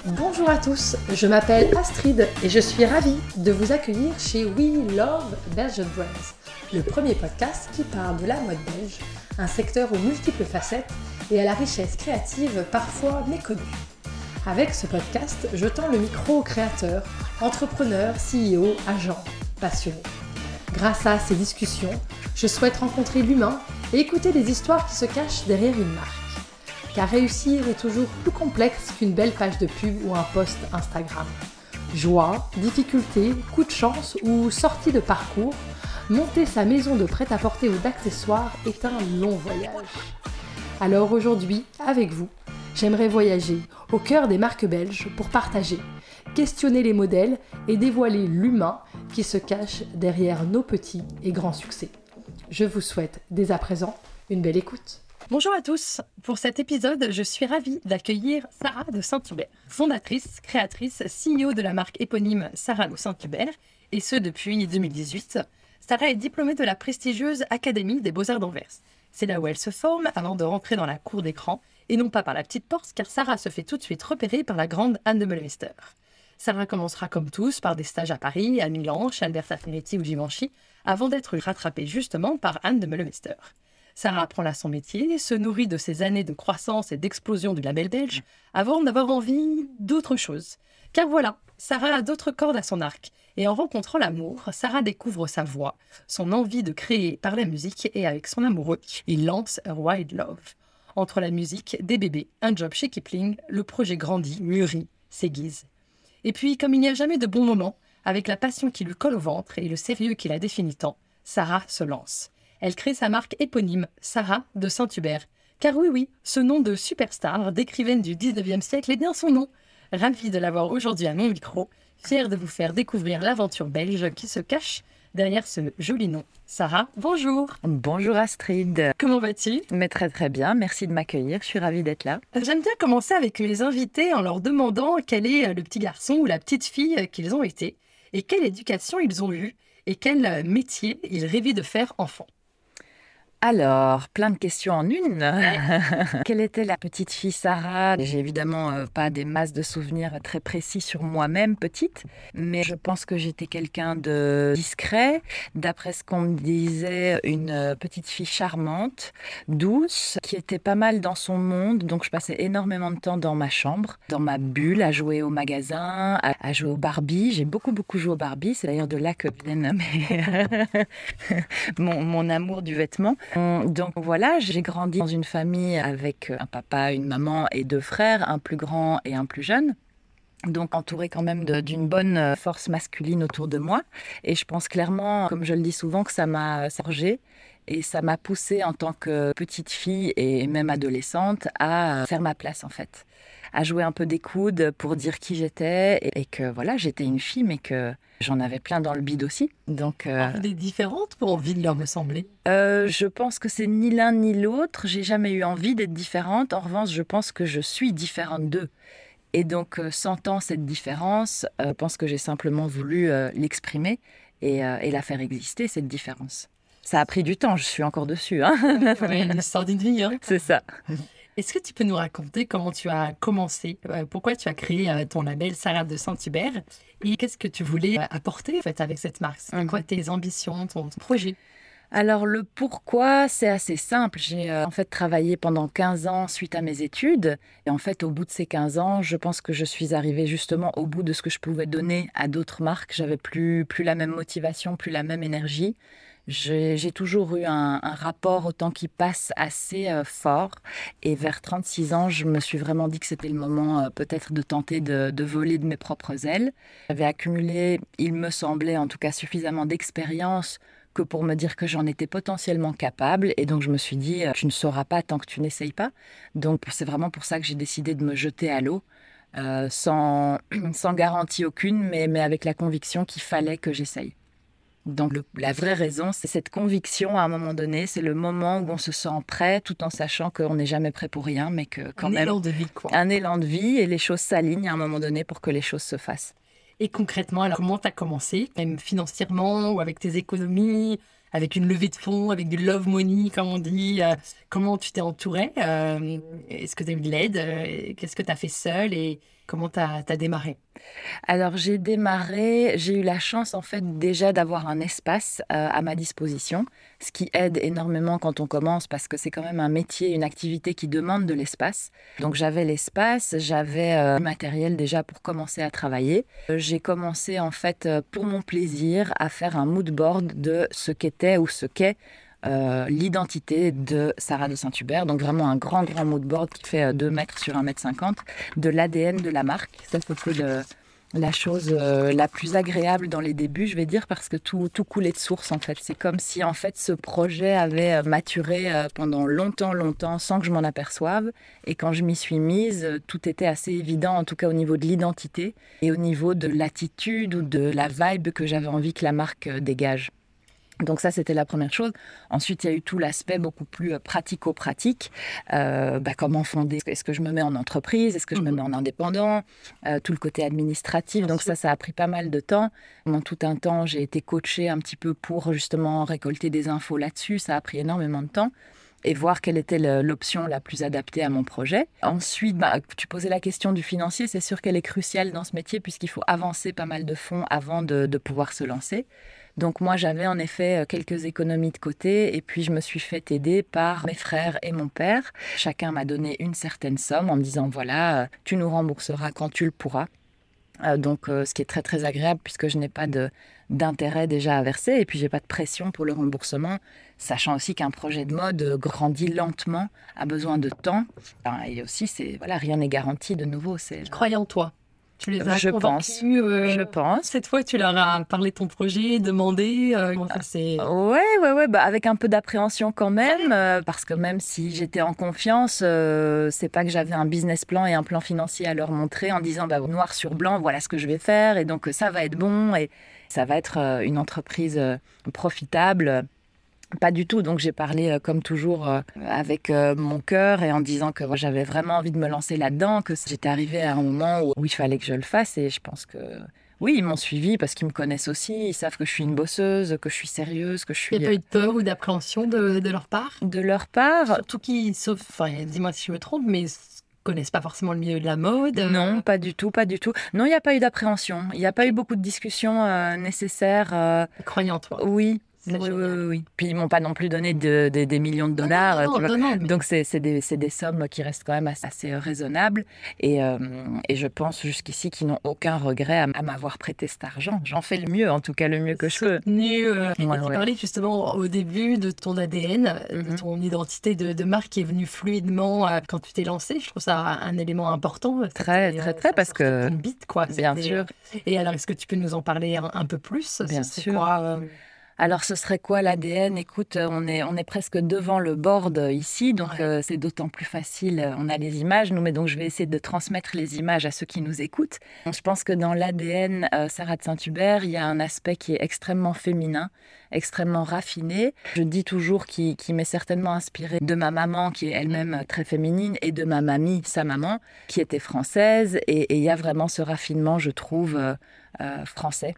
Bonjour à tous, je m'appelle Astrid et je suis ravie de vous accueillir chez We Love Belgian Brands, le premier podcast qui parle de la mode belge, un secteur aux multiples facettes et à la richesse créative parfois méconnue. Avec ce podcast, je tends le micro aux créateurs, entrepreneurs, CEO, agents, passionnés. Grâce à ces discussions, je souhaite rencontrer l'humain et écouter les histoires qui se cachent derrière une marque. Car réussir est toujours plus complexe qu'une belle page de pub ou un post Instagram. Joie, difficulté, coup de chance ou sortie de parcours, monter sa maison de prêt-à-porter ou d'accessoires est un long voyage. Alors aujourd'hui, avec vous, j'aimerais voyager au cœur des marques belges pour partager, questionner les modèles et dévoiler l'humain qui se cache derrière nos petits et grands succès. Je vous souhaite dès à présent une belle écoute. Bonjour à tous, pour cet épisode, je suis ravie d'accueillir Sarah de Saint-Hubert, fondatrice, créatrice, CEO de la marque éponyme Sarah de Saint-Hubert, et ce depuis 2018. Sarah est diplômée de la prestigieuse Académie des Beaux-Arts d'Anvers. C'est là où elle se forme avant de rentrer dans la cour d'écran, et non pas par la petite porte, car Sarah se fait tout de suite repérer par la grande Anne de Meulemeester. Sarah commencera comme tous par des stages à Paris, à Milan, chez Alberta Ferretti ou Givenchy, avant d'être rattrapée justement par Anne de Meulemeester. Sarah apprend là son métier, se nourrit de ses années de croissance et d'explosion du label belge, avant d'avoir envie d'autre chose. Car voilà, Sarah a d'autres cordes à son arc. Et en rencontrant l'amour, Sarah découvre sa voix, son envie de créer par la musique, et avec son amoureux, il lance A Wild Love. Entre la musique, des bébés, un job chez Kipling, le projet grandit, mûrit, s'aiguise. Et puis, comme il n'y a jamais de bon moment, avec la passion qui lui colle au ventre et le sérieux qui la définit tant, Sarah se lance. Elle crée sa marque éponyme, Sarah de Saint-Hubert. Car oui, ce nom de superstar, d'écrivaine du 19e siècle est bien son nom. Ravie de l'avoir aujourd'hui à mon micro, fière de vous faire découvrir l'aventure belge qui se cache derrière ce joli nom. Sarah, bonjour. Bonjour Astrid. Comment vas-tu ? Mais très très bien, merci de m'accueillir, je suis ravie d'être là. J'aime bien commencer avec les invités en leur demandant quel est le petit garçon ou la petite fille qu'ils ont été, et quelle éducation ils ont eue, et quel métier ils rêvaient de faire enfant. Alors, plein de questions en une. Quelle était la petite fille Sarah ? J'ai évidemment pas des masses de souvenirs très précis sur moi-même petite, mais je pense que j'étais quelqu'un de discret. D'après ce qu'on me disait, une petite fille charmante, douce, qui était pas mal dans son monde. Donc je passais énormément de temps dans ma chambre, dans ma bulle, à jouer au magasin, à jouer au Barbie. J'ai beaucoup joué au Barbie. C'est d'ailleurs de là que viennent mon amour du vêtement. Donc voilà, j'ai grandi dans une famille avec un papa, une maman et 2 frères, un plus grand et un plus jeune. Donc entourée quand même d'une bonne force masculine autour de moi. Et je pense clairement, comme je le dis souvent, que ça m'a forgée et ça m'a poussée en tant que petite fille et même adolescente à faire ma place en fait. À jouer un peu des coudes pour dire qui j'étais et que voilà, j'étais une fille mais que j'en avais plein dans le bide aussi. Donc, Des différentes pour envie de leur ressembler. je pense que c'est ni l'un ni l'autre. J'ai jamais eu envie d'être différente. En revanche, je pense que je suis différente d'eux. Et donc, sentant cette différence, je pense que j'ai simplement voulu l'exprimer et la faire exister, cette différence. Ça a pris du temps, je suis encore dessus. Hein. Ouais, l'histoire d'une vie, hein. C'est ça. Est-ce que tu peux nous raconter comment tu as commencé, pourquoi tu as créé ton label Sarah de Saint-Hubert et qu'est-ce que tu voulais apporter en fait, avec cette marque ? C'était quoi tes ambitions, ton projet ? Alors le pourquoi, c'est assez simple. J'ai en fait travaillé pendant 15 ans suite à mes études. Et en fait, au bout de ces 15 ans, je pense que je suis arrivée justement au bout de ce que je pouvais donner à d'autres marques. J'avais plus la même motivation, plus la même énergie. J'ai toujours eu un rapport au temps qui passe assez fort. Et vers 36 ans, je me suis vraiment dit que c'était le moment peut-être de tenter de voler de mes propres ailes. J'avais accumulé, il me semblait en tout cas, suffisamment d'expérience que pour me dire que j'en étais potentiellement capable. Et donc, je me suis dit, tu ne sauras pas tant que tu n'essayes pas. Donc, c'est vraiment pour ça que j'ai décidé de me jeter à l'eau, sans garantie aucune, mais avec la conviction qu'il fallait que j'essaye. Donc, la vraie raison, c'est cette conviction à un moment donné. C'est le moment où on se sent prêt, tout en sachant qu'on n'est jamais prêt pour rien, mais que quand même... Un élan de vie, quoi. Un élan de vie et les choses s'alignent à un moment donné pour que les choses se fassent. Et concrètement, alors comment tu as commencé, même financièrement ou avec tes économies ? avec une levée de fonds, avec du love money, comme on dit. Comment tu t'es entourée? Est-ce que tu as eu de l'aide? Qu'est-ce que tu as fait seule et comment tu as démarré? Alors j'ai eu la chance en fait déjà d'avoir un espace à ma disposition, ce qui aide énormément quand on commence parce que c'est quand même un métier, une activité qui demande de l'espace. Donc j'avais l'espace, j'avais du matériel déjà pour commencer à travailler. J'ai commencé en fait pour mon plaisir à faire un mood board de ce qu'était ou ce qu'est l'identité de Sarah de Saint-Hubert, donc vraiment un grand mood board qui fait 2 mètres sur 1,50 m, de l'ADN de la marque. Ça, c'était la chose la plus agréable dans les débuts, je vais dire, parce que tout coulait de source en fait. C'est comme si en fait ce projet avait maturé pendant longtemps, sans que je m'en aperçoive. Et quand je m'y suis mise, tout était assez évident, en tout cas au niveau de l'identité et au niveau de l'attitude ou de la vibe que j'avais envie que la marque dégage. Donc ça, c'était la première chose. Ensuite, il y a eu tout l'aspect beaucoup plus pratico-pratique. Comment fonder? Est-ce que je me mets en entreprise? Est-ce que je me mets en indépendant? Tout le côté administratif. Donc ça a pris pas mal de temps. Pendant tout un temps, j'ai été coachée un petit peu pour justement récolter des infos là-dessus. Ça a pris énormément de temps et voir quelle était l'option la plus adaptée à mon projet. Ensuite, tu posais la question du financier. C'est sûr qu'elle est cruciale dans ce métier puisqu'il faut avancer pas mal de fonds avant de pouvoir se lancer. Donc moi, j'avais en effet quelques économies de côté et puis je me suis fait aider par mes frères et mon père. Chacun m'a donné une certaine somme en me disant, voilà, tu nous rembourseras quand tu le pourras. Ce qui est très agréable puisque je n'ai pas d'intérêt déjà à verser et puis j'ai pas de pression pour le remboursement, sachant aussi qu'un projet de mode grandit lentement, a besoin de temps. Et aussi, rien n'est garanti de nouveau. Ils croient en toi. Tu les as Je convaincus. Je pense. Cette fois, tu leur as parlé de ton projet, demandé comment ça s'est... Ouais, avec un peu d'appréhension quand même, parce que même si j'étais en confiance, c'est pas que j'avais un business plan et un plan financier à leur montrer en disant noir sur blanc, voilà ce que je vais faire et donc ça va être bon et ça va être une entreprise profitable. Pas du tout, donc j'ai parlé comme toujours avec mon cœur et en disant que j'avais vraiment envie de me lancer là-dedans, que j'étais arrivée à un moment où il fallait que je le fasse et je pense que oui, ils m'ont suivie parce qu'ils me connaissent aussi, ils savent que je suis une bosseuse, que je suis sérieuse, que je suis... Il n'y a pas eu de peur ou d'appréhension de leur part? De leur part? Surtout qu'ils, dis-moi si je me trompe, mais connaissent pas forcément le milieu de la mode. Non, pas du tout. Non, il n'y a pas eu d'appréhension, il n'y a pas eu beaucoup de discussions nécessaires. Croyant en toi. Oui. Oui. Puis ils m'ont pas non plus donné des millions de dollars. Non, donc c'est des sommes qui restent quand même assez raisonnables. Et je pense jusqu'ici qu'ils n'ont aucun regret à m'avoir prêté cet argent. J'en fais le mieux, en tout cas le mieux que je peux. Tu parlais justement au début de ton ADN, de ton identité de marque qui est venue fluidement quand tu t'es lancée. Je trouve ça un élément important. Très, parce que... Une bite, quoi. Bien sûr. Et alors, est-ce que tu peux nous en parler un peu plus? Bien sûr. Alors, ce serait quoi l'ADN? Écoute, on est presque devant le board ici, donc c'est d'autant plus facile. On a les images, mais donc je vais essayer de transmettre les images à ceux qui nous écoutent. Je pense que dans l'ADN Sarah de Saint-Hubert, il y a un aspect qui est extrêmement féminin, extrêmement raffiné. Je dis toujours qui m'est certainement inspiré de ma maman, qui est elle-même très féminine, et de ma mamie, sa maman, qui était française. Et il y a vraiment ce raffinement, je trouve, français.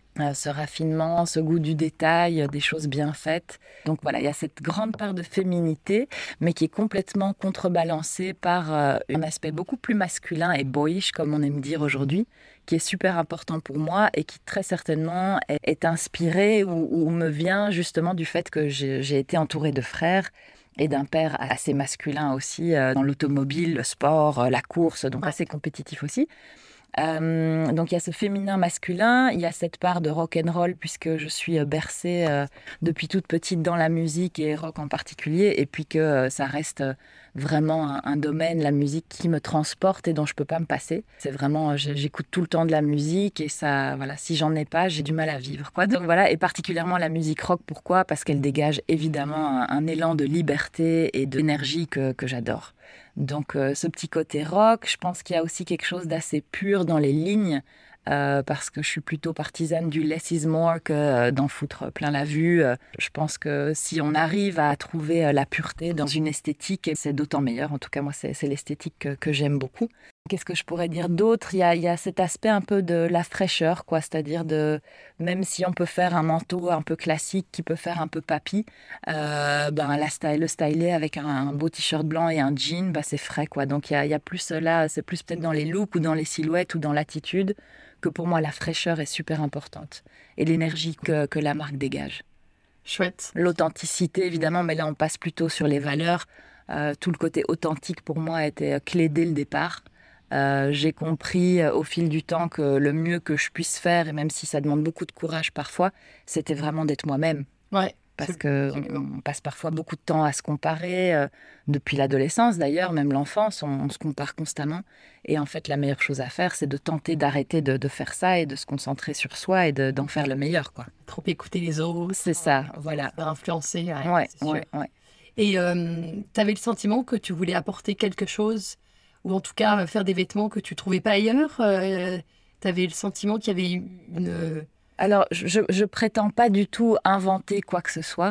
Ce raffinement, ce goût du détail, des choses bien faites. Donc voilà, il y a cette grande part de féminité, mais qui est complètement contrebalancée par un aspect beaucoup plus masculin et boyish, comme on aime dire aujourd'hui, qui est super important pour moi et qui très certainement est inspiré ou me vient justement du fait que j'ai été entourée de frères et d'un père assez masculin aussi, dans l'automobile, le sport, la course, donc assez compétitif aussi. Donc il y a ce féminin masculin, il y a cette part de rock and roll puisque je suis bercée depuis toute petite dans la musique et rock en particulier, et puis que ça reste vraiment un domaine, la musique, qui me transporte et dont je peux pas me passer. C'est vraiment, j'écoute tout le temps de la musique et ça, voilà, si j'en ai pas, j'ai du mal à vivre, quoi. Donc voilà, et particulièrement la musique rock. Pourquoi? Parce qu'elle dégage évidemment un élan de liberté et d'énergie que j'adore. Donc ce petit côté rock, je pense qu'il y a aussi quelque chose d'assez pur dans les lignes, parce que je suis plutôt partisane du less is more que d'en foutre plein la vue. Je pense que si on arrive à trouver la pureté dans une esthétique, c'est d'autant meilleur. En tout cas, moi, c'est l'esthétique que j'aime beaucoup. Qu'est-ce que je pourrais dire d'autre? Il y a cet aspect un peu de la fraîcheur, quoi. C'est-à-dire même si on peut faire un manteau un peu classique qui peut faire un peu papy, le styler avec un beau t-shirt blanc et un jean, c'est frais, quoi. Donc il y a plus là, c'est plus peut-être dans les looks ou dans les silhouettes ou dans l'attitude que pour moi la fraîcheur est super importante et l'énergie que la marque dégage. Chouette. L'authenticité, évidemment, mais là on passe plutôt sur les valeurs. Tout le côté authentique pour moi était clé dès le départ. J'ai compris au fil du temps que le mieux que je puisse faire, et même si ça demande beaucoup de courage parfois, c'était vraiment d'être moi-même. Ouais. Parce qu'on passe parfois beaucoup de temps à se comparer, depuis l'adolescence d'ailleurs, même l'enfance, on se compare constamment. Et en fait, la meilleure chose à faire, c'est de tenter d'arrêter de faire ça et de se concentrer sur soi et d'en faire le meilleur, quoi. Trop écouter les autres. C'est ça, voilà. Influencer, Ouais, c'est sûr. ouais. Et tu avais le sentiment que tu voulais apporter quelque chose, ou en tout cas faire des vêtements que tu trouvais pas ailleurs. Tu avais le sentiment qu'il y avait une... Alors, je prétends pas du tout inventer quoi que ce soit.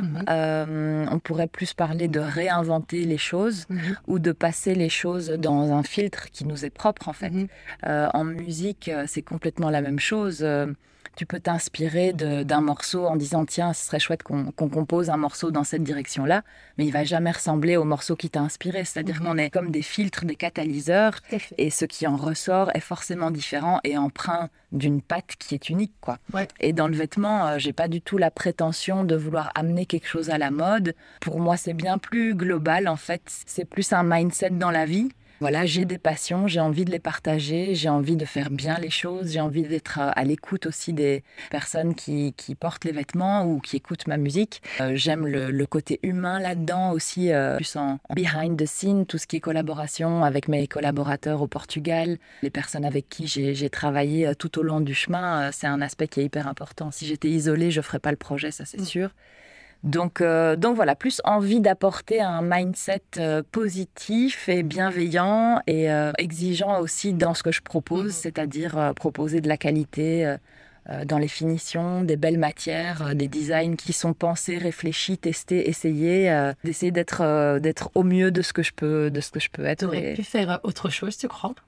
On pourrait plus parler de réinventer les choses ou de passer les choses dans un filtre qui nous est propre, en fait. En musique, c'est complètement la même chose. Tu peux t'inspirer d'un morceau en disant tiens, ce serait chouette qu'on compose un morceau dans cette direction-là, mais il va jamais ressembler au morceau qui t'a inspiré. C'est-à-dire qu'on est comme des filtres, des catalyseurs, et ce qui en ressort est forcément différent et empreint d'une patte qui est unique, quoi. Ouais. Et dans le vêtement, j'ai pas du tout la prétention de vouloir amener quelque chose à la mode. Pour moi, c'est bien plus global, en fait. C'est plus un mindset dans la vie. Voilà, j'ai des passions, j'ai envie de les partager, j'ai envie de faire bien les choses, j'ai envie d'être à l'écoute aussi des personnes qui portent les vêtements ou qui écoutent ma musique. J'aime le côté humain là-dedans aussi, plus en behind the scene, tout ce qui est collaboration avec mes collaborateurs au Portugal, les personnes avec qui j'ai travaillé tout au long du chemin, c'est un aspect qui est hyper important. Si j'étais isolée, je ne ferais pas le projet, ça c'est sûr. Donc voilà, plus envie d'apporter un mindset positif et bienveillant et exigeant aussi dans ce que je propose, c'est-à-dire proposer de la qualité dans les finitions, des belles matières, des designs qui sont pensés, réfléchis, testés, essayés, d'essayer d'être au mieux de ce que je peux être. Tu aurais pu faire autre chose, tu crois?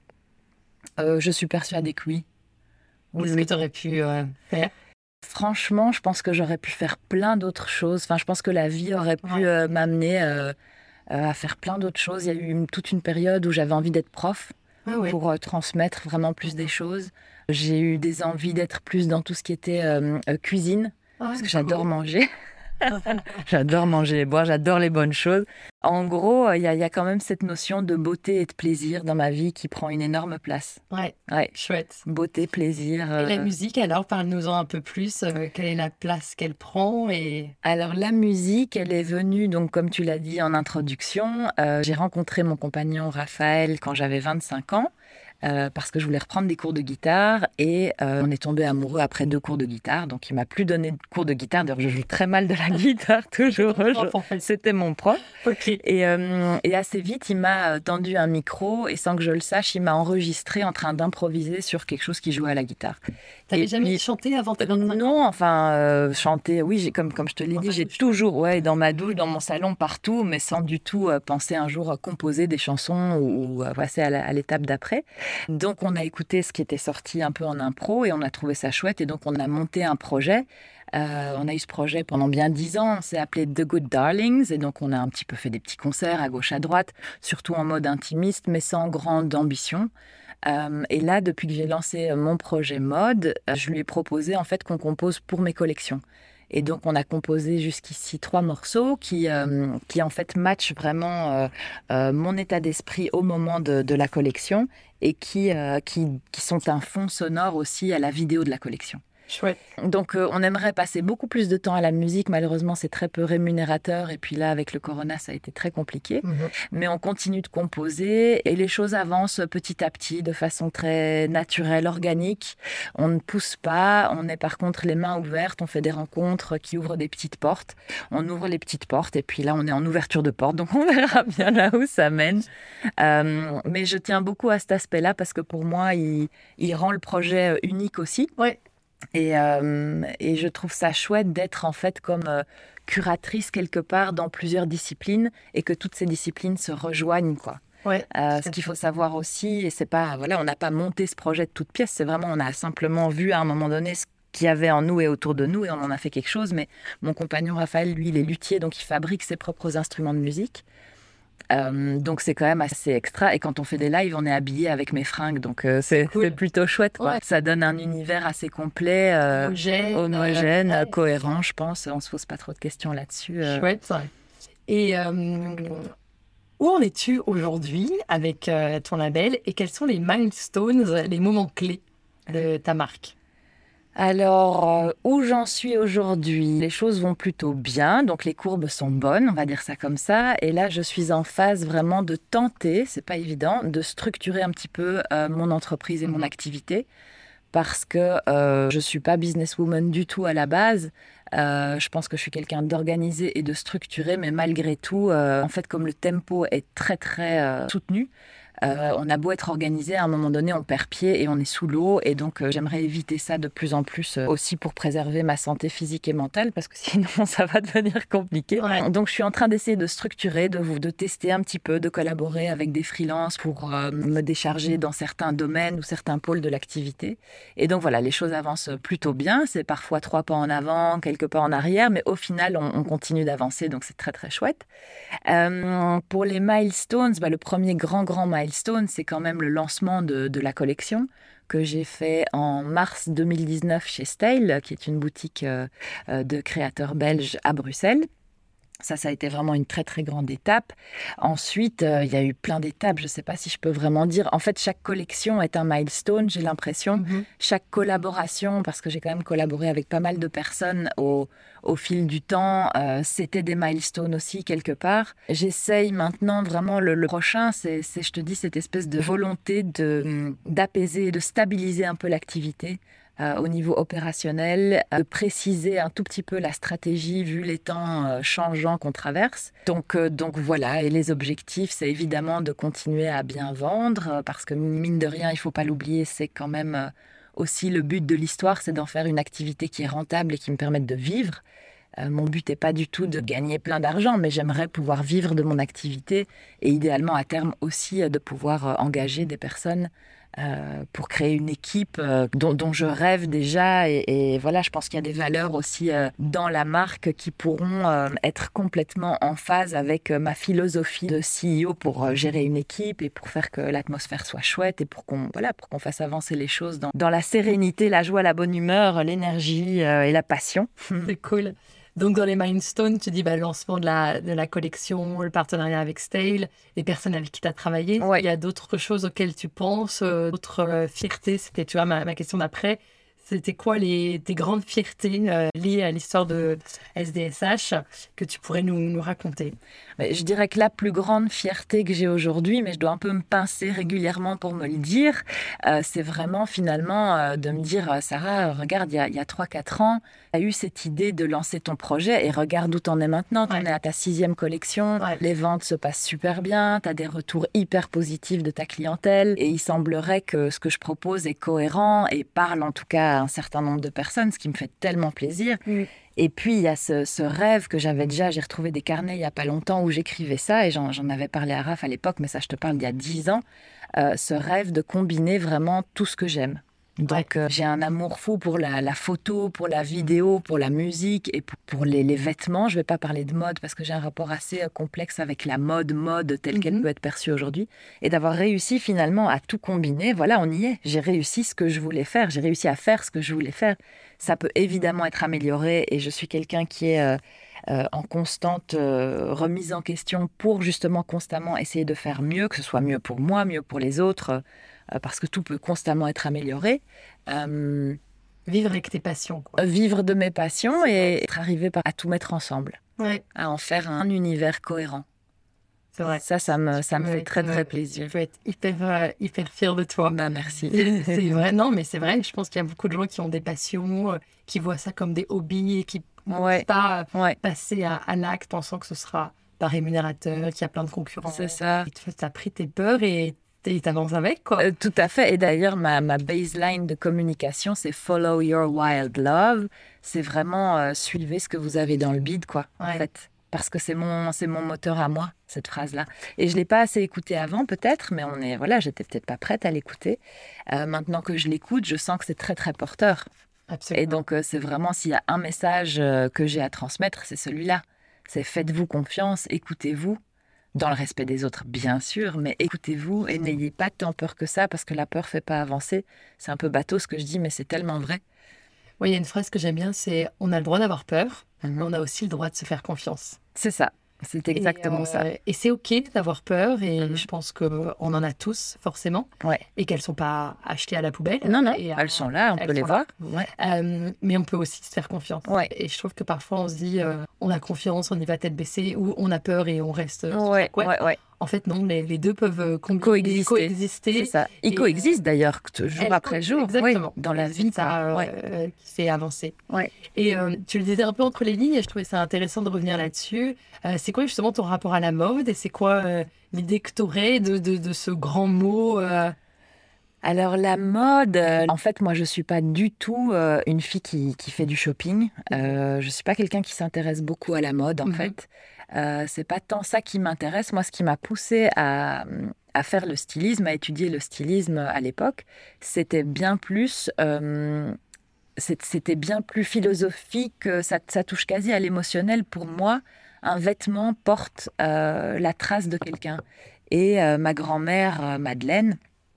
Je suis persuadée que oui. Qu'est-ce que tu aurais pu faire? Franchement, je pense que j'aurais pu faire plein d'autres choses. Enfin, je pense que la vie aurait pu m'amener à faire plein d'autres choses. Il y a eu toute une période où j'avais envie d'être prof pour transmettre vraiment plus des choses. J'ai eu des envies d'être plus dans tout ce qui était cuisine, parce que j'adore manger. J'adore manger et boire, j'adore les bonnes choses. En gros, il y a quand même cette notion de beauté et de plaisir dans ma vie qui prend une énorme place. Ouais. Chouette. Beauté, plaisir. Et la musique, alors, parle-nous-en un peu plus. Quelle est la place qu'elle prend Alors, la musique, elle est venue, donc, comme tu l'as dit en introduction, j'ai rencontré mon compagnon Raphaël quand j'avais 25 ans. Parce que je voulais reprendre des cours de guitare et on est tombé amoureux après 2 cours de guitare, donc il m'a plus donné de cours de guitare. D'ailleurs, je joue très mal de la guitare toujours. C'était mon prof. Et assez vite, il m'a tendu un micro et sans que je le sache, il m'a enregistré en train d'improviser sur quelque chose qui jouait à la guitare. T'avais jamais chanté avant? Non, chanter, oui, comme je te l'ai dit, j'ai toujours, dans ma douche, dans mon salon, partout, mais sans du tout penser un jour composer des chansons ou passer à l'étape d'après. Donc, on a écouté ce qui était sorti un peu en impro et on a trouvé ça chouette. Et donc, on a monté un projet. On a eu ce projet pendant bien 10 ans. On s'est appelé The Good Darlings. Et donc, on a un petit peu fait des petits concerts à gauche, à droite, surtout en mode intimiste, mais sans grande ambition. Et là, depuis que j'ai lancé mon projet mode, je lui ai proposé en fait qu'on compose pour mes collections. Et donc, on a composé jusqu'ici 3 morceaux qui en fait matchent vraiment mon état d'esprit au moment de la collection et qui sont un fond sonore aussi à la vidéo de la collection. Chouette. Donc, on aimerait passer beaucoup plus de temps à la musique. Malheureusement, c'est très peu rémunérateur. Et puis là, avec le corona, ça a été très compliqué. Mais on continue de composer et les choses avancent petit à petit de façon très naturelle, organique. On ne pousse pas. On est par contre les mains ouvertes. On fait des rencontres qui ouvrent des petites portes. On ouvre les petites portes et puis là, on est en ouverture de porte. Donc, on verra bien là où ça mène. Mais je tiens beaucoup à cet aspect-là parce que pour moi, il rend le projet unique aussi. Ouais. Et je trouve ça chouette d'être en fait comme curatrice quelque part dans plusieurs disciplines et que toutes ces disciplines se rejoignent, quoi. Ouais. Ce qu'il faut savoir aussi, et c'est pas, voilà, on n'a pas monté ce projet de toute pièce, c'est vraiment, on a simplement vu à un moment donné ce qu'il y avait en nous et autour de nous, et on en a fait quelque chose. Mais mon compagnon Raphaël, lui, il est luthier, donc il fabrique ses propres instruments de musique. Donc c'est quand même assez extra, et quand on fait des lives on est habillé avec mes fringues, donc c'est plutôt chouette, quoi. Ouais. Ça donne un univers assez complet, homogène, cohérent, je pense. On se pose pas trop de questions là-dessus. Chouette. Et où en es-tu aujourd'hui avec ton label, et quels sont les milestones, les moments clés de ta marque? Alors, où j'en suis aujourd'hui? Les choses vont plutôt bien, donc les courbes sont bonnes, on va dire ça comme ça. Et là, je suis en phase vraiment de tenter, c'est pas évident, de structurer un petit peu mon entreprise et mon activité, parce que je suis pas businesswoman du tout à la base. Je pense que je suis quelqu'un d'organisé et de structuré, mais malgré tout, en fait, comme le tempo est très très soutenu, on a beau être organisé, à un moment donné, on perd pied et on est sous l'eau. Et donc, j'aimerais éviter ça de plus en plus, aussi pour préserver ma santé physique et mentale, parce que sinon, ça va devenir compliqué. Ouais. Donc, je suis en train d'essayer de structurer, de tester un petit peu, de collaborer avec des freelances pour me décharger dans certains domaines ou certains pôles de l'activité. Et donc, voilà, les choses avancent plutôt bien. C'est parfois 3 pas en avant, quelques pas en arrière, mais au final, on continue d'avancer. Donc, c'est très, très chouette. Pour les milestones, le premier grand milestone, c'est quand même le lancement de la collection que j'ai fait en mars 2019 chez Style, qui est une boutique de créateurs belges à Bruxelles. Ça a été vraiment une très, très grande étape. Ensuite, il y a eu plein d'étapes. Je ne sais pas si je peux vraiment dire. En fait, chaque collection est un milestone, j'ai l'impression. Chaque collaboration, parce que j'ai quand même collaboré avec pas mal de personnes au fil du temps, c'était des milestones aussi, quelque part. J'essaye maintenant, vraiment, le prochain, c'est, je te dis, cette espèce de volonté d'apaiser, de stabiliser un peu l'activité. Au niveau opérationnel, de préciser un tout petit peu la stratégie vu les temps changeants qu'on traverse. Donc voilà, et les objectifs, c'est évidemment de continuer à bien vendre, parce que mine de rien, il ne faut pas l'oublier, c'est quand même aussi le but de l'histoire, c'est d'en faire une activité qui est rentable et qui me permette de vivre. Mon but n'est pas du tout de gagner plein d'argent, mais j'aimerais pouvoir vivre de mon activité, et idéalement à terme aussi de pouvoir engager des personnes pour créer une équipe dont je rêve déjà. Et voilà, je pense qu'il y a des valeurs aussi dans la marque qui pourront être complètement en phase avec ma philosophie de CEO pour gérer une équipe et pour faire que l'atmosphère soit chouette et pour qu'on fasse avancer les choses dans la sérénité, la joie, la bonne humeur, l'énergie et la passion. C'est cool. Donc, dans les milestones, tu dis le lancement de la collection, le partenariat avec Style, les personnes avec qui tu as travaillé. Ouais. Il y a d'autres choses auxquelles tu penses, d'autres fiertés. C'était, tu vois, ma question d'après. C'était quoi tes grandes fiertés liées à l'histoire de SDSH que tu pourrais nous raconter? Je dirais que la plus grande fierté que j'ai aujourd'hui, mais je dois un peu me pincer régulièrement pour me le dire, c'est vraiment finalement de me dire « Sarah, regarde, il y a 3-4 ans, tu as eu cette idée de lancer ton projet et regarde où tu en es maintenant. Tu en es à ta 6e collection, les ventes se passent super bien, tu as des retours hyper positifs de ta clientèle et il semblerait que ce que je propose est cohérent et parle en tout cas à un certain nombre de personnes, ce qui me fait tellement plaisir. » Et puis, il y a ce rêve que j'avais déjà. J'ai retrouvé des carnets il n'y a pas longtemps où j'écrivais ça et j'en avais parlé à Raph à l'époque, mais ça, je te parle d'il y a 10 ans. Ce rêve de combiner vraiment tout ce que j'aime. Donc, j'ai un amour fou pour la photo, pour la vidéo, pour la musique et pour les vêtements. Je ne vais pas parler de mode parce que j'ai un rapport assez complexe avec la mode telle qu'elle peut être perçue aujourd'hui. Et d'avoir réussi finalement à tout combiner, voilà, on y est. J'ai réussi ce que je voulais faire. J'ai réussi à faire ce que je voulais faire. Ça peut évidemment être amélioré et je suis quelqu'un qui est en constante remise en question pour justement constamment essayer de faire mieux, que ce soit mieux pour moi, mieux pour les autres, parce que tout peut constamment être amélioré. Vivre avec tes passions, quoi. Vivre de mes passions et être arrivé à tout mettre ensemble, Ouais. à en faire un univers cohérent. C'est vrai. Ça me fait très, très plaisir. Je peux être hyper fière de toi. Merci. C'est vrai, non, mais c'est vrai. Je pense qu'il y a beaucoup de gens qui ont des passions, qui voient ça comme des hobbies et qui ne peuvent pas passer à l'acte pensant que ce sera pas rémunérateur, qu'il y a plein de concurrents. C'est ça. Tu as pris tes peurs et t'avances avec, quoi. Tout à fait. Et d'ailleurs, ma baseline de communication, c'est « Follow your wild love ». C'est vraiment suivez ce que vous avez dans le bide, quoi, en fait. parce que c'est mon moteur à moi, cette phrase-là. Et je ne l'ai pas assez écoutée avant, peut-être, mais j'étais peut-être pas prête à l'écouter. Maintenant que je l'écoute, je sens que c'est très, très porteur. Absolument. Et donc, c'est vraiment, s'il y a un message que j'ai à transmettre, c'est celui-là. C'est faites-vous confiance, écoutez-vous, dans le respect des autres, bien sûr, mais écoutez-vous et n'ayez pas tant peur que ça, parce que la peur ne fait pas avancer. C'est un peu bateau ce que je dis, mais c'est tellement vrai. Oui, il y a une phrase que j'aime bien, c'est « on a le droit d'avoir peur, mais on a aussi le droit de se faire confiance ». C'est ça, c'est exactement ça. Et c'est OK d'avoir peur, et je pense qu'on en a tous, forcément, Ouais. et qu'elles ne sont pas achetées à la poubelle. Non, Et, elles sont là, on peut les voir. Ouais. Mais on peut aussi se faire confiance. Ouais. Et je trouve que parfois, on se dit on a confiance, on y va tête baissée, ou on a peur et on reste... Ouais. En fait, non, les deux peuvent coexister. C'est ça. Ils coexistent d'ailleurs, jour après jour. Exactement. Oui, dans la vie. C'est ça qui fait avancer. Ouais. Et tu le disais un peu entre les lignes, et je trouvais ça intéressant de revenir là-dessus. C'est quoi justement ton rapport à la mode, et c'est quoi l'idée que tu aurais de ce grand mot Alors la mode, en fait, moi je suis pas du tout une fille qui fait du shopping. Je suis pas quelqu'un qui s'intéresse beaucoup à la mode, en fait. C'est pas tant ça qui m'intéresse. Moi, ce qui m'a poussée à faire le stylisme, à étudier le stylisme à l'époque, c'était bien plus philosophique. Ça touche quasi à l'émotionnel. Pour moi, un vêtement porte la trace de quelqu'un. Et ma grand-mère, Madeleine,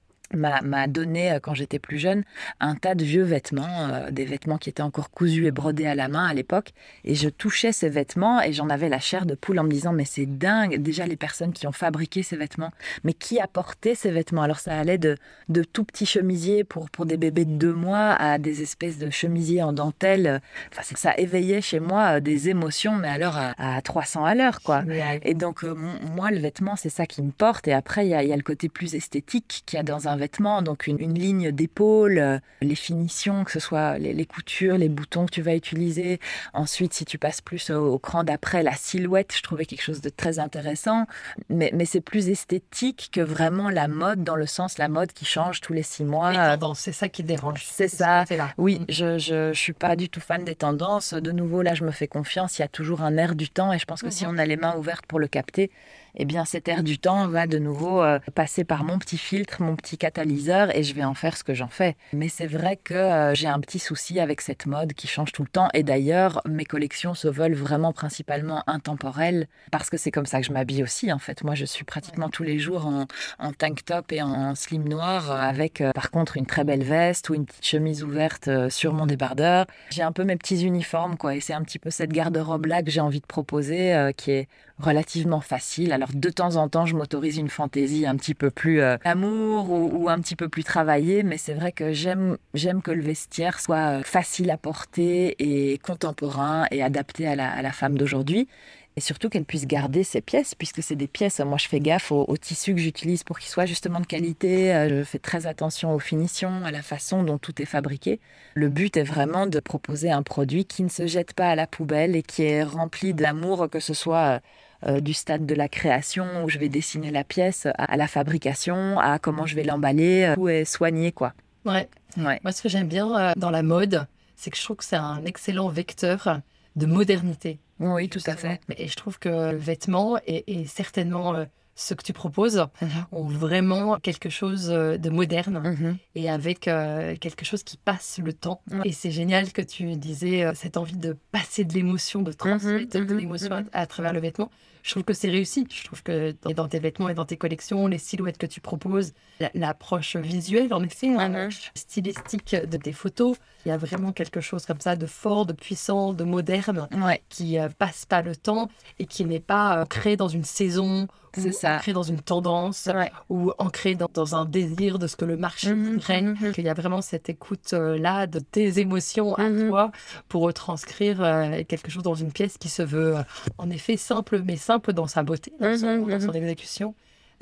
m'a donné, quand j'étais plus jeune, un tas de vieux vêtements, des vêtements qui étaient encore cousus et brodés à la main à l'époque. Et je touchais ces vêtements et j'en avais la chair de poule en me disant, mais c'est dingue, déjà les personnes qui ont fabriqué ces vêtements, mais qui a porté ces vêtements? Alors ça allait de tout petits chemisiers pour des bébés de 2 mois à des espèces de chemisiers en dentelle. Enfin, ça éveillait chez moi des émotions, mais alors à 300 à l'heure, quoi. Et donc, moi, le vêtement, c'est ça qui me porte. Et après, il y a le côté plus esthétique qu'il y a dans un vêtement, donc une ligne d'épaule, les finitions, que ce soit les coutures, les boutons que tu vas utiliser. Ensuite, si tu passes plus au cran d'après, la silhouette, je trouvais quelque chose de très intéressant. Mais c'est plus esthétique que vraiment la mode, dans le sens la mode qui change tous les 6 mois. Les tendances, c'est ça qui dérange. C'est ça. C'est là. Oui, je suis pas du tout fan des tendances. De nouveau, là, je me fais confiance. Il y a toujours un air du temps, et je pense que si on a les mains ouvertes pour le capter, eh bien, cet air du temps va de nouveau passer par mon petit filtre, mon petit catalyseur, et je vais en faire ce que j'en fais. Mais c'est vrai que j'ai un petit souci avec cette mode qui change tout le temps. Et d'ailleurs, mes collections se veulent vraiment principalement intemporelles, parce que c'est comme ça que je m'habille aussi, en fait. Moi, je suis pratiquement tous les jours en tank top et en slim noir, avec par contre une très belle veste ou une petite chemise ouverte sur mon débardeur. J'ai un peu mes petits uniformes, quoi. Et c'est un petit peu cette garde-robe-là que j'ai envie de proposer, qui est relativement facile. Alors, de temps en temps, je m'autorise une fantaisie un petit peu plus amour ou un petit peu plus travaillée, mais c'est vrai que j'aime que le vestiaire soit facile à porter et contemporain et adapté à la femme d'aujourd'hui. Et surtout qu'elle puisse garder ses pièces, puisque c'est des pièces. Moi, je fais gaffe au tissu que j'utilise pour qu'il soit justement de qualité. Je fais très attention aux finitions, à la façon dont tout est fabriqué. Le but est vraiment de proposer un produit qui ne se jette pas à la poubelle et qui est rempli d'amour, que ce soit du stade de la création où je vais dessiner la pièce, à la fabrication, à comment je vais l'emballer, tout est soigné, quoi. Ouais. Moi, ce que j'aime bien dans la mode, c'est que je trouve que c'est un excellent vecteur de modernité. Oui, tout à fait. Et je trouve que le vêtement est certainement ce que tu proposes ont vraiment quelque chose de moderne et avec quelque chose qui passe le temps. Et c'est génial que tu disais cette envie de passer de l'émotion, de transmettre de l'émotion à travers le vêtement. Je trouve que c'est réussi. Je trouve que dans tes vêtements et dans tes collections, les silhouettes que tu proposes, l'approche visuelle, en effet, stylistique de tes photos, il y a vraiment quelque chose comme ça de fort, de puissant, de moderne, qui passe pas le temps et qui n'est pas ancré dans une saison, ou ancré dans une tendance, ou ancré dans un désir de ce que le marché voudrait. Qu'il y a vraiment cette écoute-là de tes émotions à toi pour retranscrire quelque chose dans une pièce qui se veut en effet simple, mais simple dans sa beauté, dans son exécution.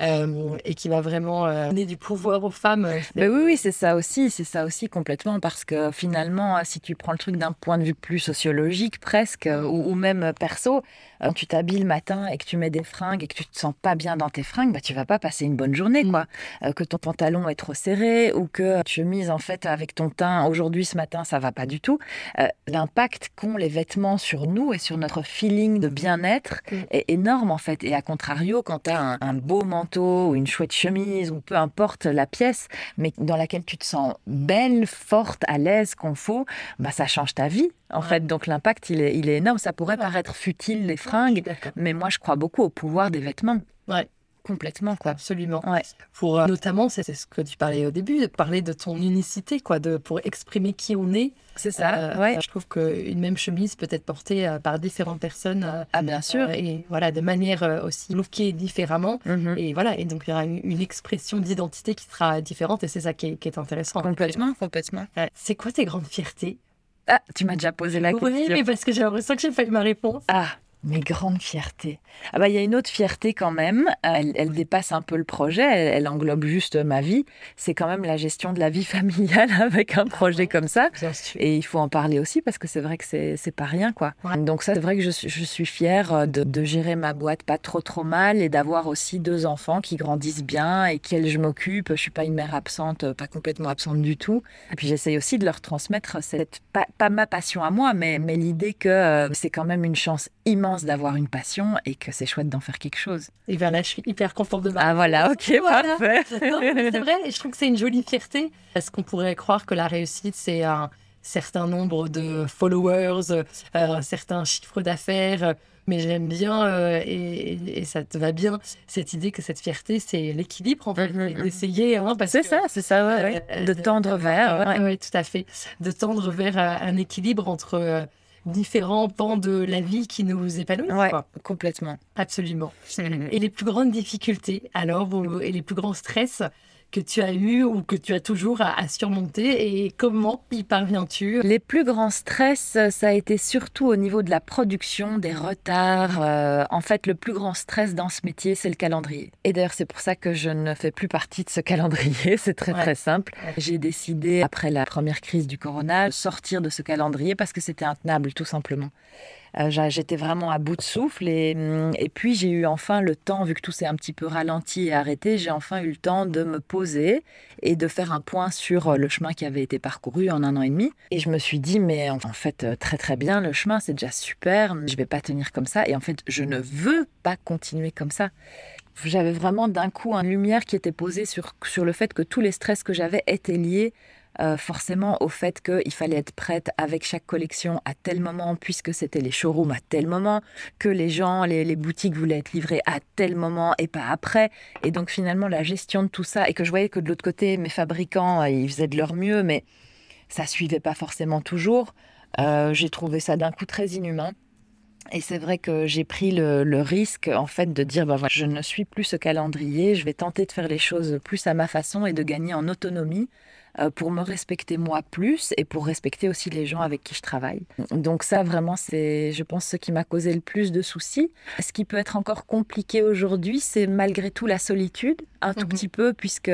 et qui va vraiment donner du pouvoir aux femmes. Oui, c'est ça aussi complètement, parce que finalement, si tu prends le truc d'un point de vue plus sociologique presque, ou même perso, quand tu t'habilles le matin et que tu mets des fringues et que tu te sens pas bien dans tes fringues, bah, tu vas pas passer une bonne journée, quoi. Que ton pantalon est trop serré ou que tu chemises en fait avec ton teint aujourd'hui, ce matin, ça va pas du tout. L'impact qu'ont les vêtements sur nous et sur notre feeling de bien-être est énorme en fait. Et à contrario, quand tu as un beau manteau ou une chouette chemise ou peu importe la pièce, mais dans laquelle tu te sens belle, forte, à l'aise, confort, bah ça change ta vie en fait. Donc l'impact, il est énorme. Ça pourrait paraître futile, les fringues, mais moi je crois beaucoup au pouvoir des vêtements. Ouais. Complètement, quoi. Absolument. Ouais. Pour notamment, c'est ce que tu parlais au début, de parler de ton unicité, quoi, pour exprimer qui on est. C'est ça. Ouais. Je trouve qu'une même chemise peut être portée par différentes personnes. Bien sûr. Et voilà, de manière aussi lookée différemment. Et voilà, et donc il y aura une expression d'identité qui sera différente, et c'est ça qui est intéressant. Complètement. C'est quoi tes grandes fiertés? Ah, tu m'as déjà posé la question. Oui, mais parce que j'ai l'impression que j'ai pas eu ma réponse. Ah, mes grandes fiertés. Ah bah, il y a une autre fierté quand même. Elle dépasse un peu le projet. Elle englobe juste ma vie. C'est quand même la gestion de la vie familiale avec un projet comme ça. Bien sûr. Et il faut en parler aussi parce que c'est vrai que c'est pas rien, quoi. Ouais. Donc ça, c'est vrai que je suis fière de gérer ma boîte pas trop mal et d'avoir aussi 2 enfants qui grandissent bien et qu'elles je m'occupe. Je suis pas une mère absente, pas complètement absente du tout. Et puis j'essaye aussi de leur transmettre pas ma passion à moi, mais l'idée que c'est quand même une chance immense d'avoir une passion et que c'est chouette d'en faire quelque chose. Et bien là, je suis hyper contente de ma Ah voilà, ok, voilà. parfait. Non, c'est vrai, et je trouve que c'est une jolie fierté. Est-ce qu'on pourrait croire que la réussite, c'est un certain nombre de followers, un certain chiffre d'affaires, mais j'aime bien, et ça te va bien, cette idée que cette fierté, c'est l'équilibre, en fait, d'essayer. Parce C'est que, ça, ouais. De tendre vers. Oui, tout à fait. De tendre vers un équilibre entre différents pans de la vie qui nous épanouissent. Ouais, quoi. complètement. Absolument. Et les plus grandes difficultés, alors, et les plus grands stress que tu as eu ou que tu as toujours à surmonter, et comment y parviens-tu? Les plus grands stress, ça a été surtout au niveau de la production, des retards. En fait, le plus grand stress dans ce métier, c'est le calendrier. Et d'ailleurs, c'est pour ça que je ne fais plus partie de ce calendrier. C'est très simple. J'ai décidé, après la première crise du corona, de sortir de ce calendrier parce que c'était intenable, tout simplement. J'étais vraiment à bout de souffle et puis j'ai eu enfin le temps, vu que tout s'est un petit peu ralenti et arrêté, j'ai enfin eu le temps de me poser et de faire un point sur le chemin qui avait été parcouru en 1 an et demi. Et je me suis dit, mais en fait, très bien, le chemin, c'est déjà super, je vais pas tenir comme ça. Et en fait, je ne veux pas continuer comme ça. J'avais vraiment d'un coup une lumière qui était posée sur le fait que tous les stress que j'avais étaient liés forcément au fait qu'il fallait être prête avec chaque collection à tel moment, puisque c'était les showrooms à tel moment, que les gens, les boutiques voulaient être livrées à tel moment et pas après. Et donc finalement, la gestion de tout ça, et que je voyais que de l'autre côté, mes fabricants, ils faisaient de leur mieux, mais ça suivait pas forcément toujours. J'ai trouvé ça d'un coup très inhumain. Et c'est vrai que j'ai pris le risque, en fait, de dire, voilà, je ne suis plus ce calendrier, je vais tenter de faire les choses plus à ma façon et de gagner en autonomie pour me respecter moi plus et pour respecter aussi les gens avec qui je travaille. Donc ça, vraiment, c'est, je pense, ce qui m'a causé le plus de soucis. Ce qui peut être encore compliqué aujourd'hui, c'est malgré tout la solitude, un tout petit peu, puisque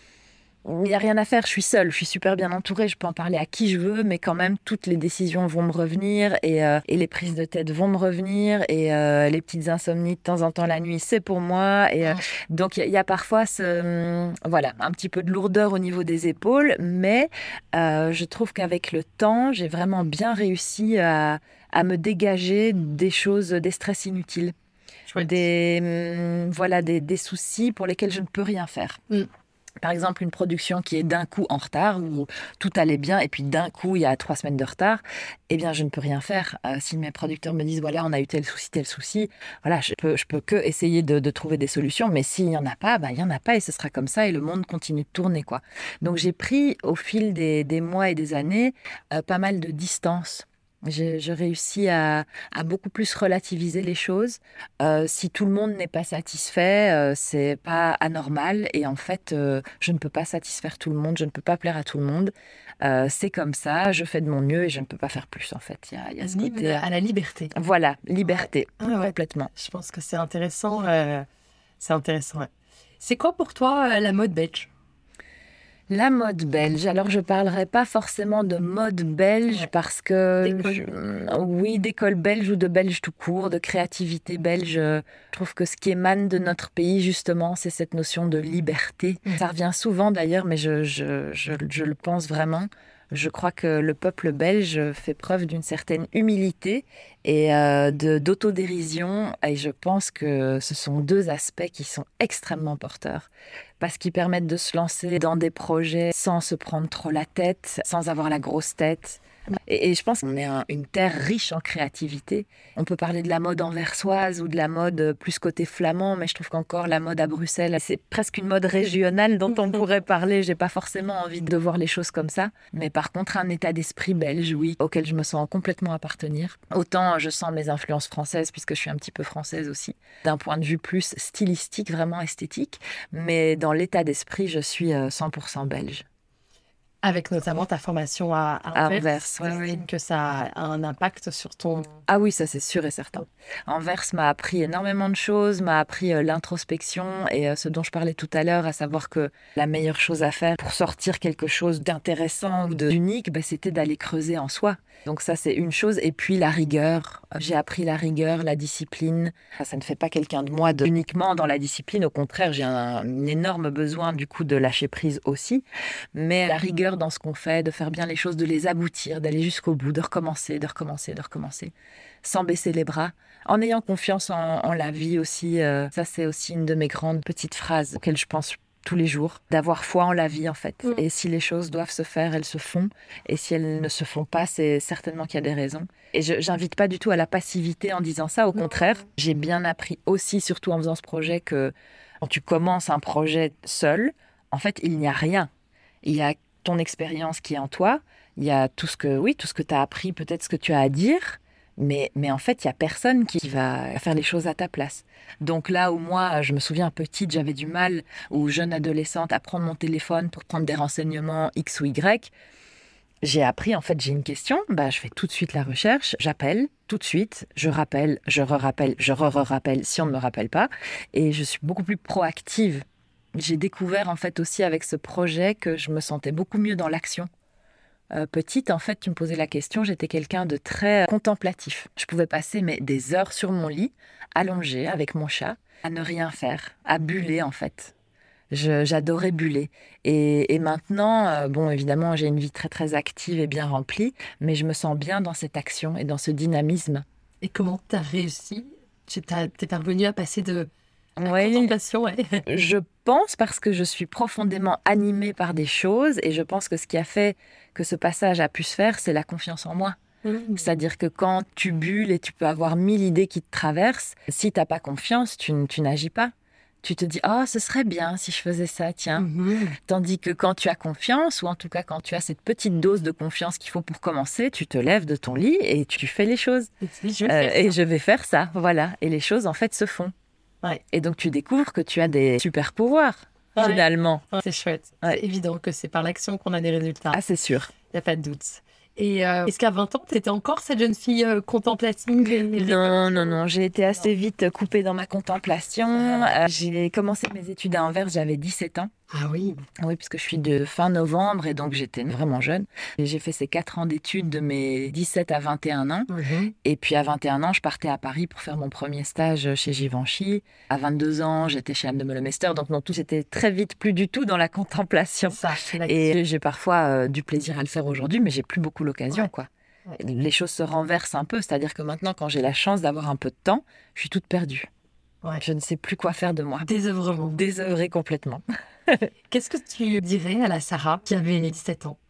il n'y a rien à faire, je suis seule, je suis super bien entourée, je peux en parler à qui je veux, mais quand même, toutes les décisions vont me revenir et les prises de tête vont me revenir et les petites insomnies de temps en temps la nuit, c'est pour moi. Et donc, il y a parfois voilà, un petit peu de lourdeur au niveau des épaules, mais je trouve qu'avec le temps, j'ai vraiment bien réussi à me dégager des choses, des stress inutiles, des soucis pour lesquels je ne peux rien faire. Par exemple, une production qui est d'un coup en retard, où tout allait bien, et puis d'un coup, il y a 3 semaines de retard, eh bien, je ne peux rien faire. Si mes producteurs me disent, voilà, on a eu tel souci, voilà, je peux que essayer de trouver des solutions, mais s'il n'y en a pas, il n'y en a pas, et ce sera comme ça, et le monde continue de tourner, quoi. Donc, j'ai pris, au fil des mois et des années, pas mal de distance. Je réussis à beaucoup plus relativiser les choses. Si tout le monde n'est pas satisfait, c'est pas anormal. Et en fait, je ne peux pas satisfaire tout le monde, je ne peux pas plaire à tout le monde. C'est comme ça, je fais de mon mieux et je ne peux pas faire plus, en fait. Il y a ce côté à la liberté. Voilà, liberté, complètement. Je pense que c'est intéressant. C'est intéressant, ouais. C'est quoi pour toi la mode belge? La mode belge. Alors, je parlerai pas forcément de mode belge parce que, oui, d'école belge ou de belge tout court, de créativité belge. Je trouve que ce qui émane de notre pays, justement, c'est cette notion de liberté. Ça revient souvent d'ailleurs, mais je le pense vraiment. Je crois que le peuple belge fait preuve d'une certaine humilité et d'autodérision. Et je pense que ce sont deux aspects qui sont extrêmement porteurs parce qu'ils permettent de se lancer dans des projets sans se prendre trop la tête, sans avoir la grosse tête. Et je pense qu'on est une terre riche en créativité. On peut parler de la mode anversoise ou de la mode plus côté flamand, mais je trouve qu'encore la mode à Bruxelles, c'est presque une mode régionale dont on pourrait parler. J'ai pas forcément envie de voir les choses comme ça. Mais par contre, un état d'esprit belge, oui, auquel je me sens complètement appartenir. Autant je sens mes influences françaises, puisque je suis un petit peu française aussi, d'un point de vue plus stylistique, vraiment esthétique. Mais dans l'état d'esprit, je suis 100% belge. Avec notamment ta formation à Anvers, oui. Que ça a un impact sur ton... Ah oui, ça c'est sûr et certain. Anvers m'a appris énormément de choses, m'a appris l'introspection et ce dont je parlais tout à l'heure, à savoir que la meilleure chose à faire pour sortir quelque chose d'intéressant ou d'unique, c'était d'aller creuser en soi. Donc ça c'est une chose. Et puis la rigueur. J'ai appris la rigueur, la discipline. Ça ne fait pas quelqu'un de moi uniquement dans la discipline. Au contraire, j'ai un énorme besoin du coup de lâcher prise aussi. Mais la rigueur dans ce qu'on fait, de faire bien les choses, de les aboutir, d'aller jusqu'au bout, de recommencer, sans baisser les bras, en ayant confiance en la vie aussi. Ça, c'est aussi une de mes grandes petites phrases auxquelles je pense tous les jours, d'avoir foi en la vie en fait. Et si les choses doivent se faire, elles se font. Et si elles ne se font pas, c'est certainement qu'il y a des raisons. Et j'invite pas du tout à la passivité en disant ça. Au contraire, j'ai bien appris aussi, surtout en faisant ce projet, que quand tu commences un projet seul, en fait, il n'y a rien. Il y a ton expérience qui est en toi, il y a tout ce que tu as appris, peut-être ce que tu as à dire, mais en fait, il n'y a personne qui va faire les choses à ta place. Donc là où moi, je me souviens petite, j'avais du mal, ou jeune adolescente, à prendre mon téléphone pour prendre des renseignements X ou Y, j'ai appris, en fait, j'ai une question, je fais tout de suite la recherche, j'appelle tout de suite, je rappelle, je re-rappelle, je re-rappelle si on ne me rappelle pas, et je suis beaucoup plus proactive. J'ai découvert en fait aussi avec ce projet que je me sentais beaucoup mieux dans l'action. Petite, en fait, tu me posais la question, j'étais quelqu'un de très contemplatif. Je pouvais passer des heures sur mon lit, allongée avec mon chat, à ne rien faire, à buller en fait. J'adorais buller. Et maintenant, évidemment, j'ai une vie très très active et bien remplie, mais je me sens bien dans cette action et dans ce dynamisme. Et comment tu as réussi? T'es parvenue à passer de... Oui, contemplation, ouais. Je pense parce que je suis profondément animée par des choses et je pense que ce qui a fait que ce passage a pu se faire, c'est la confiance en moi. C'est-à-dire que quand tu bulles et tu peux avoir 1000 idées qui te traversent, si tu n'as pas confiance, tu n'agis pas. Tu te dis « Oh, ce serait bien si je faisais ça, tiens ». Tandis que quand tu as confiance, ou en tout cas quand tu as cette petite dose de confiance qu'il faut pour commencer, tu te lèves de ton lit et tu fais les choses. Je vais faire ça, voilà. Et les choses, en fait, se font. Ouais. Et donc, tu découvres que tu as des super pouvoirs, finalement. Ouais, c'est chouette. Ouais. C'est évident que c'est par l'action qu'on a des résultats. Ah, c'est sûr. Il n'y a pas de doute. Et est-ce qu'à 20 ans, tu étais encore cette jeune fille contemplative? Non. J'ai été assez vite coupée dans ma contemplation. J'ai commencé mes études à Anvers, j'avais 17 ans. Ah oui? Oui, puisque je suis de fin novembre et donc j'étais vraiment jeune. Et j'ai fait ces 4 ans d'études de mes 17 à 21 ans. Et puis à 21 ans, je partais à Paris pour faire mon premier stage chez Givenchy. À 22 ans, j'étais chez Anne de Meulemeester. Donc non, tout c'était très vite plus du tout dans la contemplation. Et j'ai parfois du plaisir à le faire aujourd'hui, mais j'ai plus beaucoup l'occasion, quoi. Ouais. Les choses se renversent un peu. C'est-à-dire que maintenant, quand j'ai la chance d'avoir un peu de temps, je suis toute perdue. Ouais. Je ne sais plus quoi faire de moi. Désœuvrement. Désœuvrée complètement. Qu'est-ce que tu dirais à la Sarah qui avait 17 ans?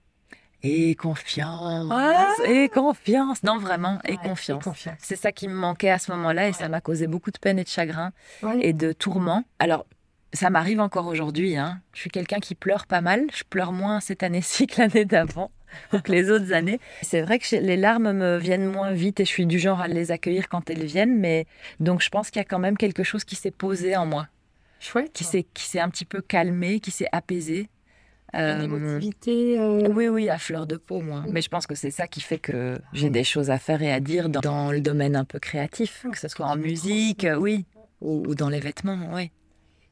Et confiance. Et confiance. Non, vraiment, et confiance. C'est ça qui me manquait à ce moment-là et ça m'a causé beaucoup de peine et de chagrin et de tourments. Alors, ça m'arrive encore aujourd'hui. Je suis quelqu'un qui pleure pas mal. Je pleure moins cette année-ci que l'année d'avant ou que les autres années. C'est vrai que les larmes me viennent moins vite et je suis du genre à les accueillir quand elles viennent. Mais donc, je pense qu'il y a quand même quelque chose qui s'est posé en moi. Chouette. Qui s'est un petit peu calmé, qui s'est apaisé. Une émotivité. Oui, à fleur de peau, moi. Mais je pense que c'est ça qui fait que j'ai des choses à faire et à dire dans le domaine un peu créatif, que ce soit en musique, oui, ou dans les vêtements, oui.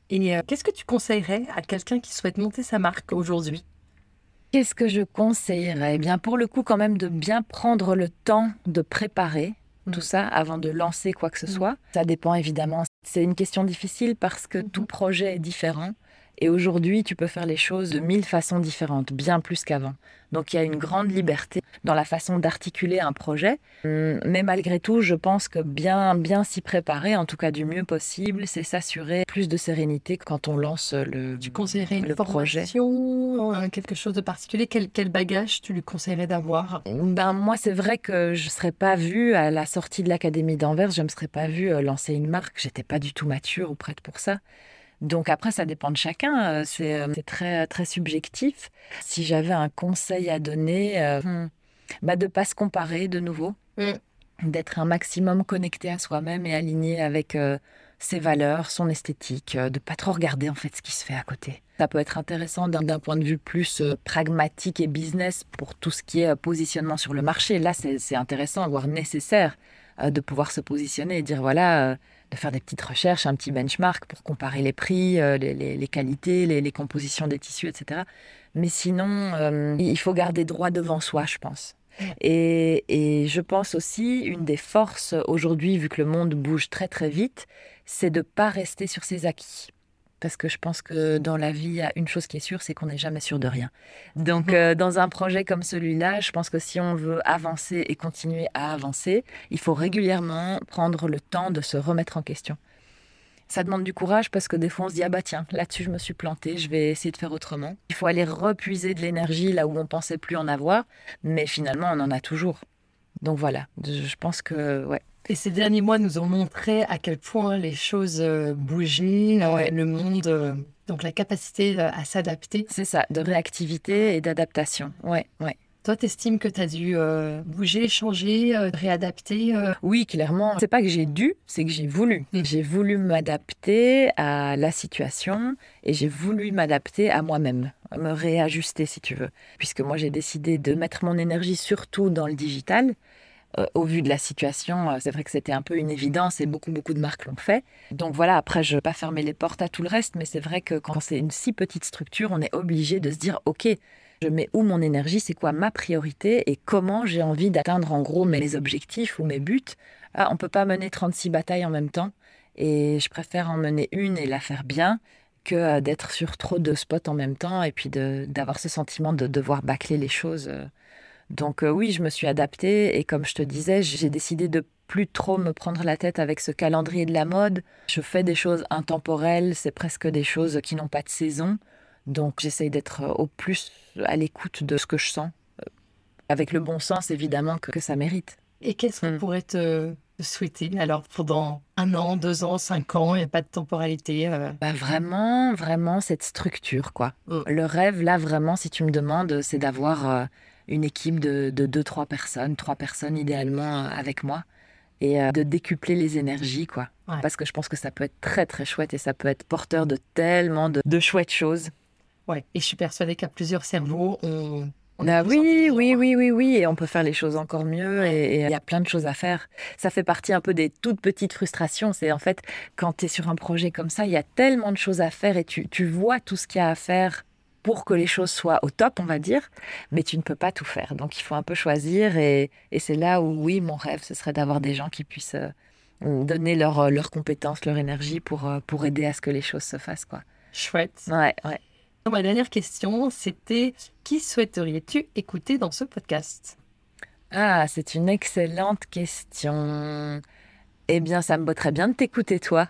Et qu'est-ce que tu conseillerais à quelqu'un qui souhaite monter sa marque aujourd'hui? Qu'est-ce que je conseillerais? Eh bien, pour le coup, quand même, de bien prendre le temps de préparer tout ça avant de lancer quoi que ce soit. Ça dépend évidemment. C'est une question difficile parce que tout projet est différent. Et aujourd'hui, tu peux faire les choses de 1000 façons différentes, bien plus qu'avant. Donc, il y a une grande liberté dans la façon d'articuler un projet. Mais malgré tout, je pense que bien s'y préparer, en tout cas du mieux possible, c'est s'assurer plus de sérénité quand on lance Tu conseillerais une projet. formation, quelque chose de particulier? Quel bagage tu lui conseillerais d'avoir? Moi, c'est vrai que je ne serais pas vue à la sortie de l'Académie d'Anvers, je ne me serais pas vue lancer une marque. J'étais pas du tout mature ou prête pour ça. Donc après, ça dépend de chacun. C'est très, très subjectif. Si j'avais un conseil à donner, de ne pas se comparer de nouveau, d'être un maximum connecté à soi-même et aligné avec ses valeurs, son esthétique, de ne pas trop regarder en fait ce qui se fait à côté. Ça peut être intéressant d'un point de vue plus pragmatique et business pour tout ce qui est positionnement sur le marché. Là, c'est intéressant, voire nécessaire de pouvoir se positionner et dire voilà, de faire des petites recherches, un petit benchmark pour comparer les prix, les qualités, les compositions des tissus, etc. Mais sinon, il faut garder droit devant soi, je pense. Et je pense aussi, une des forces aujourd'hui, vu que le monde bouge très très vite, c'est de ne pas rester sur ses acquis. Parce que je pense que dans la vie, il y a une chose qui est sûre, c'est qu'on n'est jamais sûr de rien. Donc, dans un projet comme celui-là, je pense que si on veut avancer et continuer à avancer, il faut régulièrement prendre le temps de se remettre en question. Ça demande du courage parce que des fois, on se dit « Ah bah tiens, là-dessus, je me suis plantée, je vais essayer de faire autrement. » Il faut aller repuiser de l'énergie là où on pensait plus en avoir, mais finalement, on en a toujours. Donc voilà, je pense que, ouais. Et ces derniers mois nous ont montré à quel point les choses bougeaient, le monde, donc la capacité à s'adapter. C'est ça, de réactivité et d'adaptation. Ouais. Toi, t'estimes que tu as dû bouger, changer, réadapter Oui, clairement. C'est pas que j'ai dû, c'est que j'ai voulu. J'ai voulu m'adapter à la situation et j'ai voulu m'adapter à moi-même, me réajuster si tu veux. Puisque moi, j'ai décidé de mettre mon énergie surtout dans le digital. Au vu de la situation, c'est vrai que c'était un peu une évidence et beaucoup de marques l'ont fait. Donc voilà, après, je ne veux pas fermer les portes à tout le reste, mais c'est vrai que quand c'est une si petite structure, on est obligé de se dire « Ok, je mets où mon énergie, c'est quoi ma priorité et comment j'ai envie d'atteindre en gros mes objectifs ou mes buts ?» On ne peut pas mener 36 batailles en même temps et je préfère en mener une et la faire bien que d'être sur trop de spots en même temps et puis d'avoir ce sentiment de devoir bâcler les choses. Donc oui, je me suis adaptée et comme je te disais, j'ai décidé de plus trop me prendre la tête avec ce calendrier de la mode. Je fais des choses intemporelles, c'est presque des choses qui n'ont pas de saison. Donc j'essaye d'être au plus à l'écoute de ce que je sens, avec le bon sens évidemment que ça mérite. Et qu'est-ce qu'on pourrait te souhaiter alors pendant 1 an, 2 ans, 5 ans, il n'y a pas de temporalité Vraiment cette structure quoi. Le rêve là vraiment, si tu me demandes, c'est d'avoir une équipe de 2-3 personnes, 3 personnes idéalement avec moi et de décupler les énergies quoi. Ouais. Parce que je pense que ça peut être très très chouette et ça peut être porteur de tellement de chouettes choses. Ouais, et je suis persuadée qu'à plusieurs cerveaux, on oui, et on peut faire les choses encore mieux et il y a plein de choses à faire. Ça fait partie un peu des toutes petites frustrations. C'est en fait, quand tu es sur un projet comme ça, il y a tellement de choses à faire et tu vois tout ce qu'il y a à faire pour que les choses soient au top, on va dire, mais tu ne peux pas tout faire. Donc, il faut un peu choisir et c'est là où, oui, mon rêve, ce serait d'avoir des gens qui puissent donner leurs compétences, leur énergie pour aider à ce que les choses se fassent, quoi. Chouette. Ouais. Ma dernière question, c'était qui souhaiterais-tu écouter dans ce podcast? Ah, c'est une excellente question. Eh bien, ça me botterait bien de t'écouter, toi.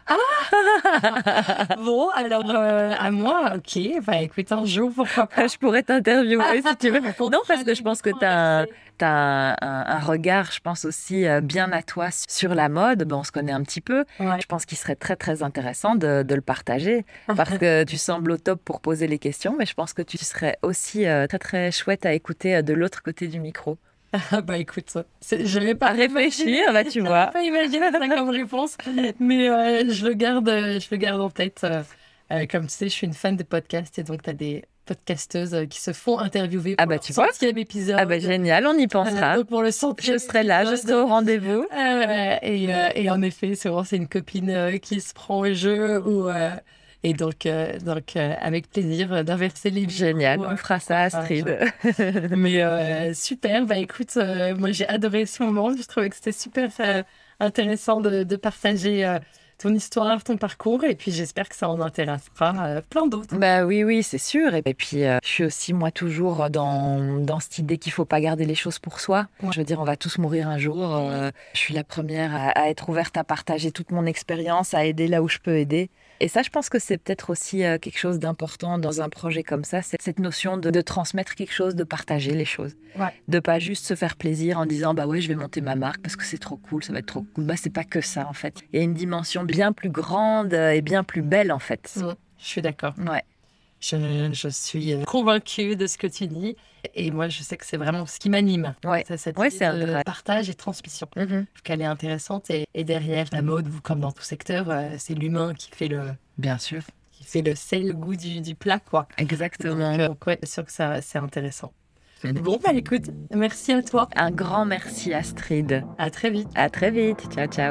Bon, alors, à moi, ok. Écoute, un jour, pourquoi pas. Je pourrais t'interviewer si tu veux. Non, parce que je pense que tu as un regard, je pense aussi bien à toi sur la mode. On se connaît un petit peu. Ouais. Je pense qu'il serait très, très intéressant de le partager parce que tu sembles au top pour poser les questions, mais je pense que tu serais aussi très, très chouette à écouter de l'autre côté du micro. Écoute, je vais pas réfléchir, là tu vois. Je vais pas imaginer ça comme réponse, mais je le garde en tête. Comme tu sais, je suis une fan de podcasts et donc tu as des podcasteuses qui se font interviewer pour tu vois 100e épisode. Génial, on y pensera. Donc pour le 100e je serai là, je serai au rendez-vous. Et en effet, c'est une copine qui se prend au jeu ou Et donc avec plaisir d'inverser les Génial, micros. on fera ça, Astrid. Mais super, bah écoute, moi j'ai adoré ce moment. Je trouvais que c'était super intéressant de partager ton histoire, ton parcours. Et puis j'espère que ça en intéressera plein d'autres. Bah oui, c'est sûr. Et puis, je suis aussi, moi, toujours dans cette idée qu'il faut pas garder les choses pour soi. Ouais. Je veux dire, on va tous mourir un jour. Je suis la première à être ouverte à partager toute mon expérience, à aider là où je peux aider. Et ça, je pense que c'est peut-être aussi quelque chose d'important dans un projet comme ça, c'est cette notion de transmettre quelque chose, de partager les choses. Ouais. De pas juste se faire plaisir en disant, bah ouais, je vais monter ma marque parce que c'est trop cool, ça va être trop cool. Bah, c'est pas que ça, en fait. Il y a une dimension bien plus grande et bien plus belle, en fait. Je suis d'accord. Ouais. Je suis convaincue de ce que tu dis. Et moi, je sais que c'est vraiment ce qui m'anime. Ouais. C'est cette Ouais, idée c'est de vrai. partage et transmission. Mhm. Je trouve qu'elle est intéressante. Et derrière la mode, comme dans tout secteur, c'est l'humain qui fait Bien sûr. le sel, le goût du plat, quoi. Exactement. Donc ouais, c'est sûr que ça, c'est intéressant. Bon, bah écoute, merci à toi. Un grand merci, Astrid. À très vite. À très vite. Ciao, ciao.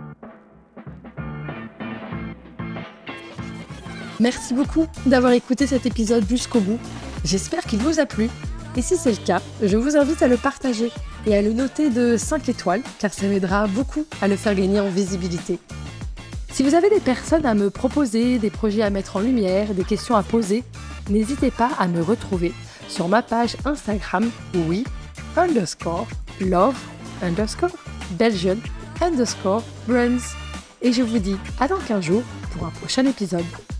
Merci beaucoup d'avoir écouté cet épisode jusqu'au bout. J'espère qu'il vous a plu. Et si c'est le cas, je vous invite à le partager et à le noter de 5 étoiles, car ça m'aidera beaucoup à le faire gagner en visibilité. Si vous avez des personnes à me proposer, des projets à mettre en lumière, des questions à poser, n'hésitez pas à me retrouver sur ma page Instagram, we_love_Belgian_brands. Et je vous dis à dans 15 jours pour un prochain épisode.